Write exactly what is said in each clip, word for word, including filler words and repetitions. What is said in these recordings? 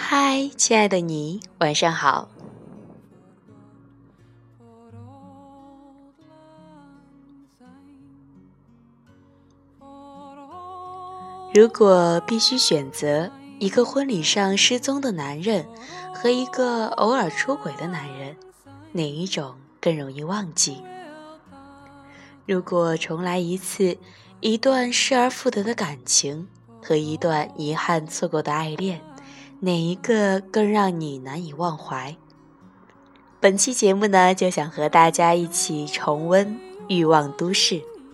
嗨，亲爱的你，晚上好。如果必须选择一个婚礼上失踪的男人和一个偶尔出轨的男人，哪一种更容易忘记？如果重来一次，一段失而复得的感情和一段遗憾错过的爱恋，哪一个更让你难以忘怀？本期节目呢，就想和大家一起重温《欲望都市》。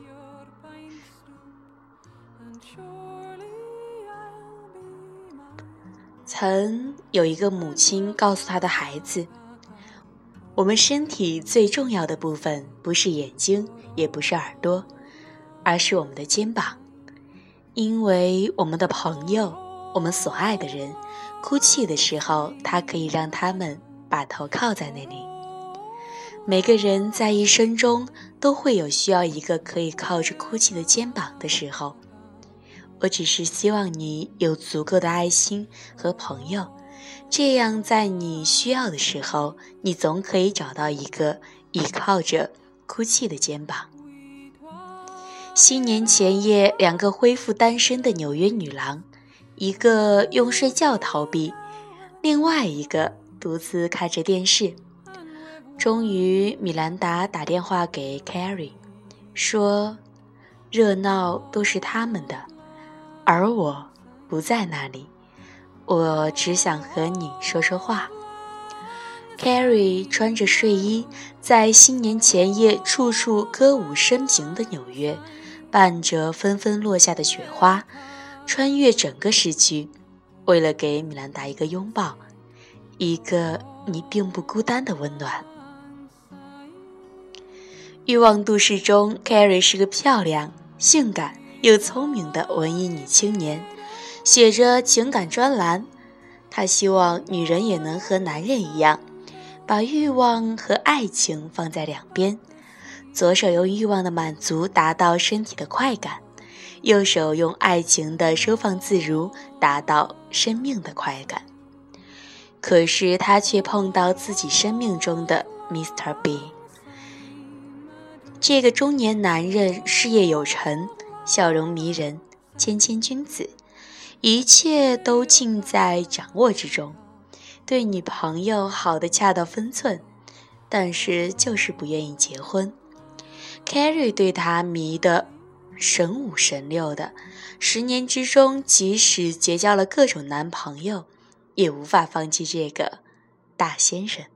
曾有一个母亲告诉她的孩子，我们身体最重要的部分不是眼睛，也不是耳朵，而是我们的肩膀。因为我们的朋友，我们所爱的人哭泣的时候，它可以让他们把头靠在那里。每个人在一生中都会有需要一个可以靠着哭泣的肩膀的时候。我只是希望你有足够的爱心和朋友，这样在你需要的时候，你总可以找到一个依靠着哭泣的肩膀。新年前夜，两个恢复单身的纽约女郎，一个用睡觉逃避，另外一个独自看着电视。终于，米兰达打电话给 Carrie， 说热闹都是他们的，而我不在那里，我只想和你说说话。Carrie 穿着睡衣，在新年前夜处处歌舞升平的纽约，伴着纷纷落下的雪花，穿越整个市区，为了给米兰达一个拥抱，一个你并不孤单的温暖。欲望都市中 Carrie 是个漂亮、性感又聪明的文艺女青年，写着情感专栏。她希望女人也能和男人一样，把欲望和爱情放在两边，左手用欲望的满足达到身体的快感，右手用爱情的收放自如达到生命的快感。可是她却碰到自己生命中的 Mister B。 这个中年男人事业有成，笑容迷人，谦谦君子，一切都尽在掌握之中，对女朋友好得恰到分寸，但是就是不愿意结婚。 Carrie 对他迷得神五神六的，十年之中即使结交了各种男朋友，也无法放弃这个大先生。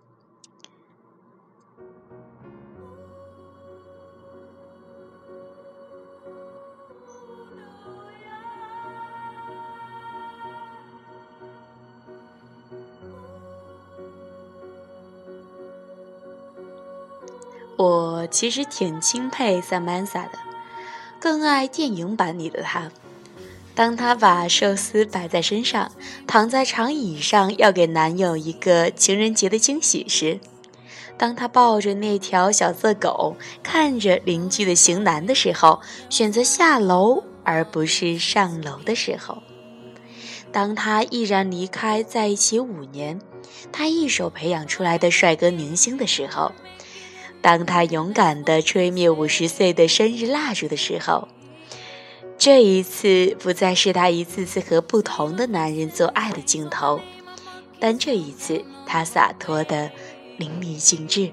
我其实挺钦佩 Samantha 的，更爱电影版里的她。当她把寿司摆在身上，躺在长椅上要给男友一个情人节的惊喜时，当她抱着那条小色狗，看着邻居的型男的时候，选择下楼而不是上楼的时候，当她毅然离开在一起五年，她一手培养出来的帅哥明星的时候，当他勇敢地吹灭五十岁的生日蜡烛的时候，这一次不再是他一次次和不同的男人做爱的镜头，但这一次他洒脱得淋漓尽致。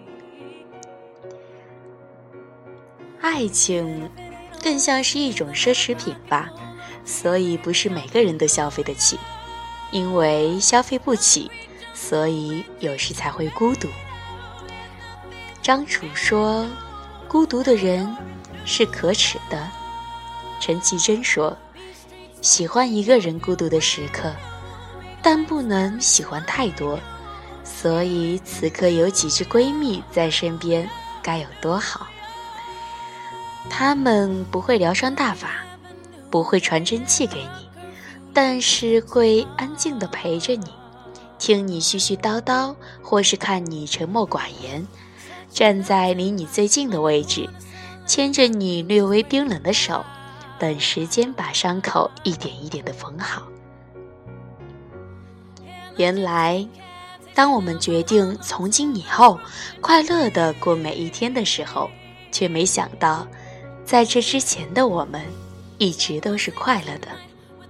爱情更像是一种奢侈品吧，所以不是每个人都消费得起，因为消费不起，所以有时才会孤独。张楚说，孤独的人是可耻的。陈绮贞说，喜欢一个人孤独的时刻，但不能喜欢太多，所以此刻有几只闺蜜在身边该有多好。她们不会疗伤大法，不会传真气给你，但是会安静地陪着你，听你絮絮叨叨，或是看你沉默寡言，站在离你最近的位置，牵着你略微冰冷的手，等时间把伤口一点一点地缝好。 原来当我们决定从今以后快乐地过每一天的时候，却没想到在这之前的我们一直都是快乐的。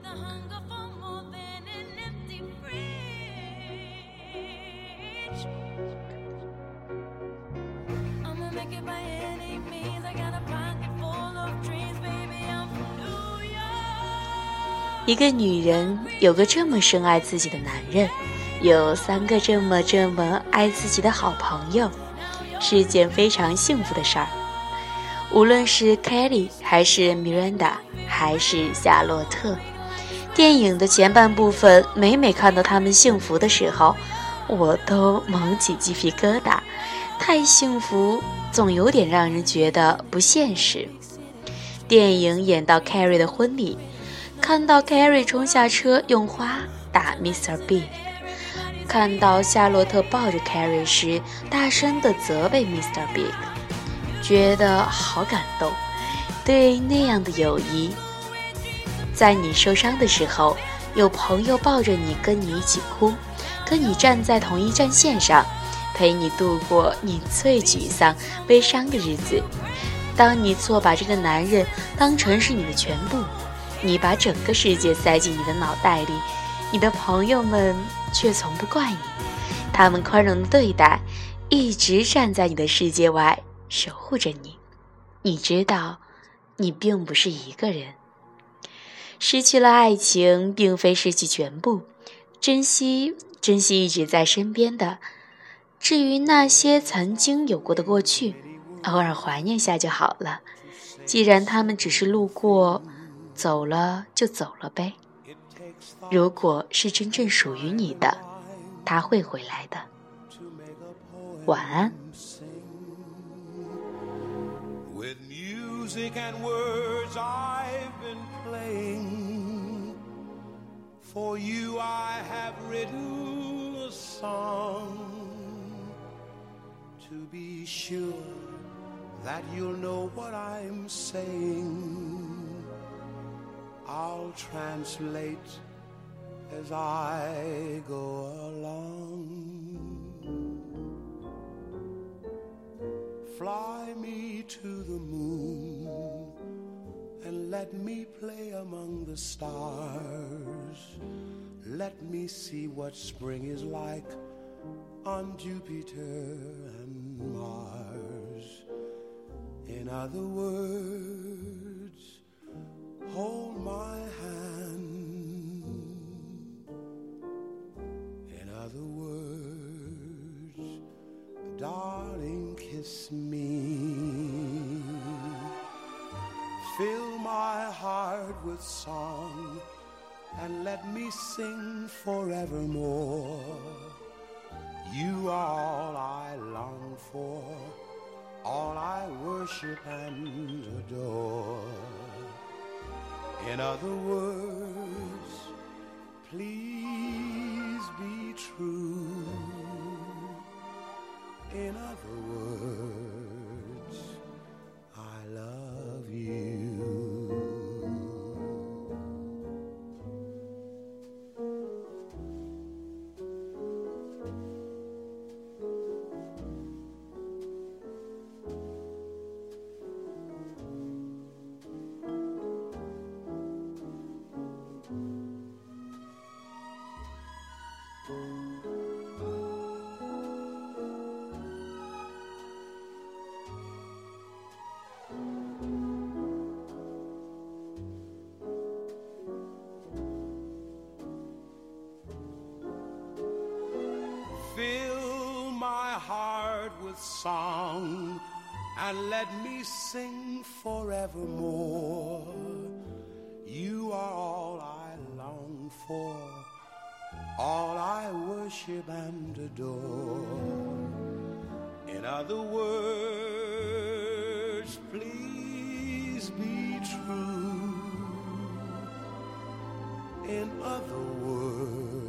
一个女人有个这么深爱自己的男人，有三个这么这么爱自己的好朋友，是件非常幸福的事儿。无论是 Kelly 还是 Miranda 还是夏洛特，电影的前半部分每每看到他们幸福的时候，我都蒙起鸡皮疙瘩。太幸福总有点让人觉得不现实。电影演到 Carrie 的婚礼，看到 Carrie 冲下车用花打 Mister Big， 看到夏洛特抱着 Carrie 时大声地责备 Mister Big， 觉得好感动。对那样的友谊，在你受伤的时候，有朋友抱着你跟你一起哭，跟你站在同一战线上，陪你度过你最沮丧悲伤的日子。当你错把这个男人当成是你的全部，你把整个世界塞进你的脑袋里，你的朋友们却从不怪你，他们宽容的对待，一直站在你的世界外守护着你。你知道你并不是一个人。失去了爱情并非失去全部，珍惜珍惜一直在身边的。至于那些曾经有过的过去，偶尔怀念下就好了。既然他们只是路过，走了就走了呗。如果是真正属于你的，他会回来的。晚安。 With music and words I've been playing, for you I have written a song, to be sure that you'll know what I'm saying. I'll translate as I go along. Fly me to the moon and let me play among the stars. Let me see what spring is like on Jupiter and Mars. In other words, hold my hand. In other words, darling, kiss me. Fill my heart with song and let me sing forevermore. You are all I long for, all I worship and adore. In other words, please be true. In other words, I love you. Fill my heart with song and let me sing forevermore. You are all I long for, all I worship and adore. In other words, please be true. In other words,